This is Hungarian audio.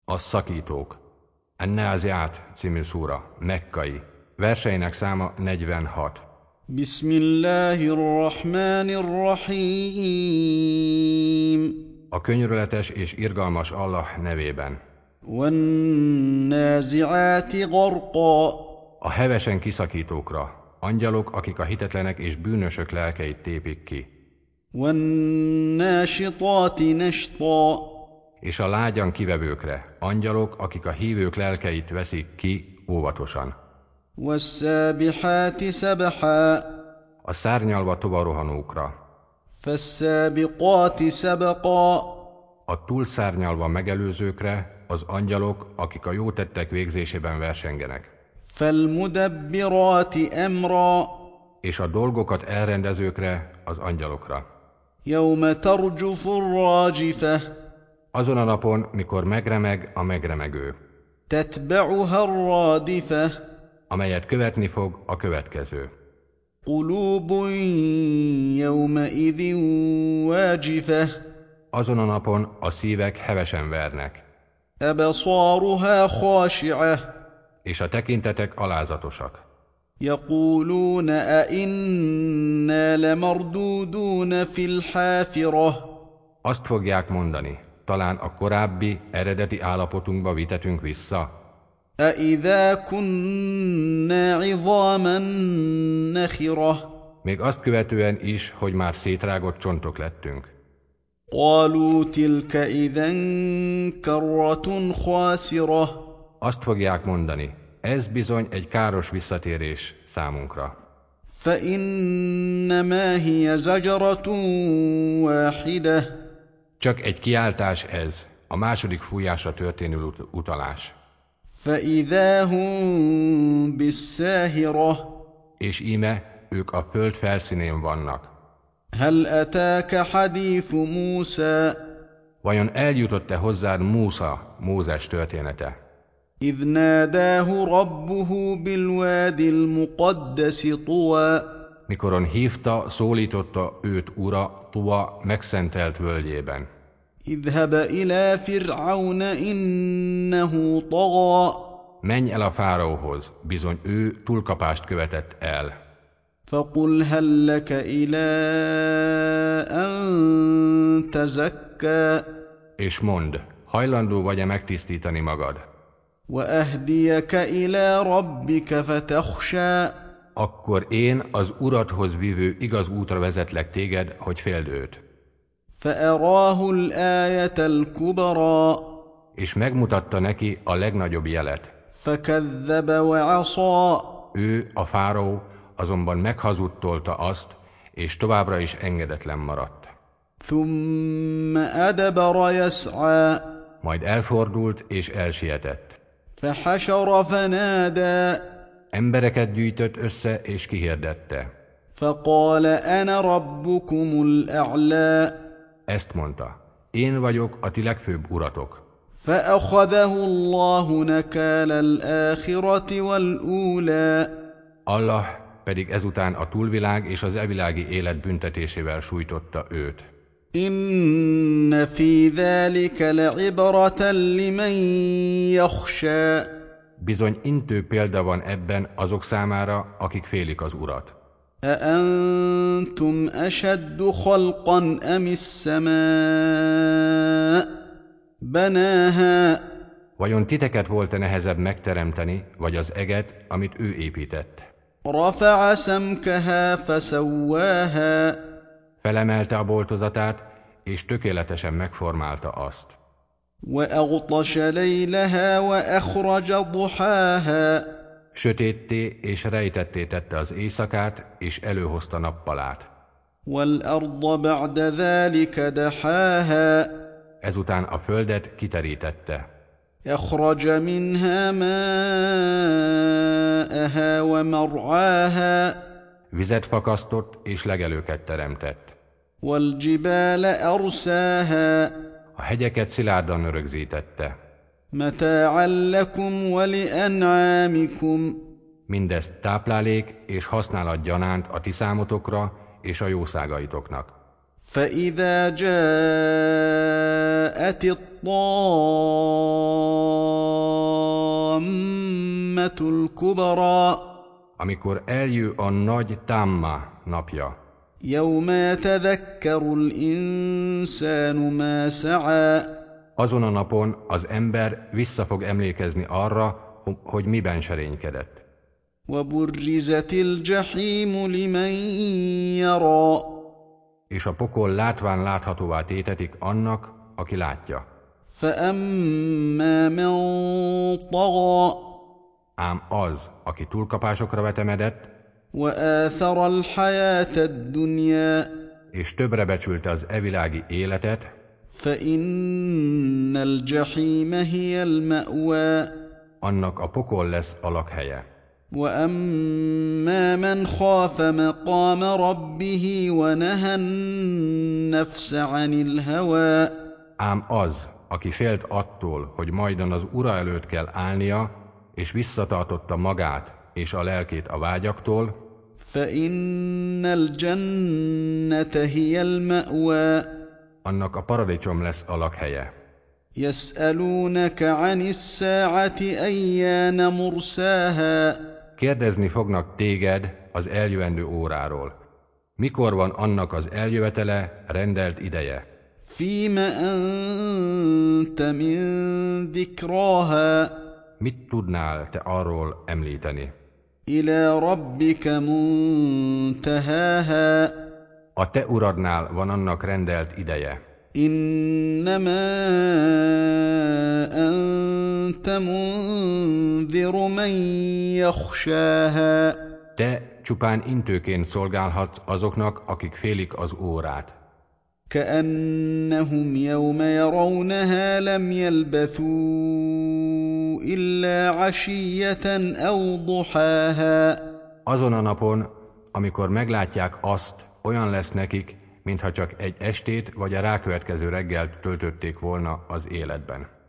A szakítók. An-Náziát című szúra, mekkai. Verseinek száma 46. Bismillahirrahmanirrahim. A könyörületes és irgalmas Allah nevében. Wan-náziáti gharqa. A hevesen kiszakítókra, angyalok, akik a hitetlenek és bűnösök lelkeit tépik ki. Wan-náshitáti nashta. És a lágyan kivevőkre, angyalok, akik a hívők lelkeit veszik ki óvatosan. Was-szábiháti szabha. A szárnyalva tovarohanókra, Fas-szábiqáti szabqa. a túlszárnyalva megelőzőkre, az angyalok, akik a jó tettek végzésében versengenek. Fal-mudabbiráti amra. És a dolgokat elrendezőkre, az angyalokra. Yawma tarjufu-r-rájifa. Azon a napon, mikor megremeg a megremegő, Tatba'uha-r-rádifa. amelyet követni fog a következő. Qulubun yawma'idhin wájifa. Azon a napon a szívek hevesen vernek, Absaruha khashi'ah. és a tekintetek alázatosak. Yaquluna a inna lamarduduna fil-háfirah. Azt fogják mondani, talán a korábbi, eredeti állapotunkba vitetünk vissza. A idha kunna 'idhaman nakhirah. Még azt követően is, hogy már szétrágott csontok lettünk. Qalu tilka idhan karratun khasirah. Azt fogják mondani, ez bizony egy káros visszatérés számunkra. Fa innama hiya zajratun wahidah. Csak egy kiáltás ez, a második fújásra történő utalás. Fa idha hum bis-sáhirah. És íme ők a föld felszínén vannak. Hal atáka hadithu Musa. Vajon eljutott-e hozzád Mózes története? إذ ناداه ربه بالوادي المقدس طوى. Mikoron hívta, szólította őt Ura Tua megszentelt völgyében. اذهب إلى فرعون إنه طغى. Menj el a fáraóhoz, bizony ő túlkapást követett el. فقل هل لك إلى أن تزكى. És mondd, hajlandó vagy-e megtisztítani magad? وأهديك إلى ربك فتخشى. Akkor én az Uradhoz vívő igaz útra vezetlek téged, hogy féld őt. فأراه الآية الكبرى. És megmutatta neki a legnagyobb jelet. فكذب وعصى. Ő, a fáraó, azonban meghazudtolta azt, és továbbra is engedetlen maradt. ثم أدبر يسعى. Majd elfordult és elsietett. فحشر فنادى. Embereket gyűjtött össze és kihirdette. فقال أنا ربكم الأعلى. Ezt mondta, én vagyok a ti legfőbb uratok. فأخذه الله نكال الآخرة والأولى. Allah pedig ezután a túlvilág és az evilági élet büntetésével sújtotta őt. إن في ذلك لعبرة لمن يخشى. Bizony intő példa van ebben azok számára, akik félik az Urat. أأنتم أشد خلقا أم السماء بناها. Vajon titeket volt-e nehezebb megteremteni, vagy az eget, amit ő épített? رفع سمكها فسواها. Felemelte a boltozatát, és tökéletesen megformálta azt. وأغطش ليلها وأخرج ضحاها. Sötétté és rejtetté tette az éjszakát, és előhozta nappalát. والأرض بعد ذلك دحاها. Ezután a földet kiterítette. أخرج منها ماءها ومرعاها. Vizet fakasztott és legelőket teremtett. والجبال أرساها. A hegyeket szilárdan rögzítette. متاعا لكم ولأنعامكم. Mindezt táplálék és használat gyanánt a ti számotokra és a jószágaitoknak. فإذا جاءت الطامة الكبرى Amikor eljö a nagy támmá napja, يوم يتذكر الإنسان ما سعى azon a napon az ember vissza fog emlékezni arra, hogy miben serénykedett. وبرزت الجحيم لمن يرى És a pokol látván láthatóvá tétetik annak, aki látja. فأما من طغى Ám az, aki túlkapásokra vetemedett, وآثر الحياة الدنيا és többre becsülte az evilági életet, فإن الجحيم هي المأوى annak a pokol lesz a lakhelye. وأما من خاف مقام ربه ونهى النفس عن الهوى Ám az, aki félt attól, hogy majdan az ura előtt kell állnia, és visszatartotta magát és a lelkét a vágyaktól, فإن الجنة هي المأوى annak a paradicsom lesz a lakhelye. يسألونك عن الساعة أيان مرساها Kérdezni fognak téged az eljövendő óráról. Mikor van annak az eljövetele, rendelt ideje? فيم أنت من ذكراها Mit tudnál te arról említeni? إلى ربك منتهاها A te uradnál van annak rendelt ideje. إنما أنت منذر من يخشاها Te csupán intőként szolgálhatsz azoknak, akik félik az órát. كأنهم يوم يرونها لم يلبثوا إلا عشية أو ضحاها Azon a napon, amikor meglátják azt, olyan lesz nekik, mintha csak egy estét vagy a rákövetkező reggelt töltötték volna az életben.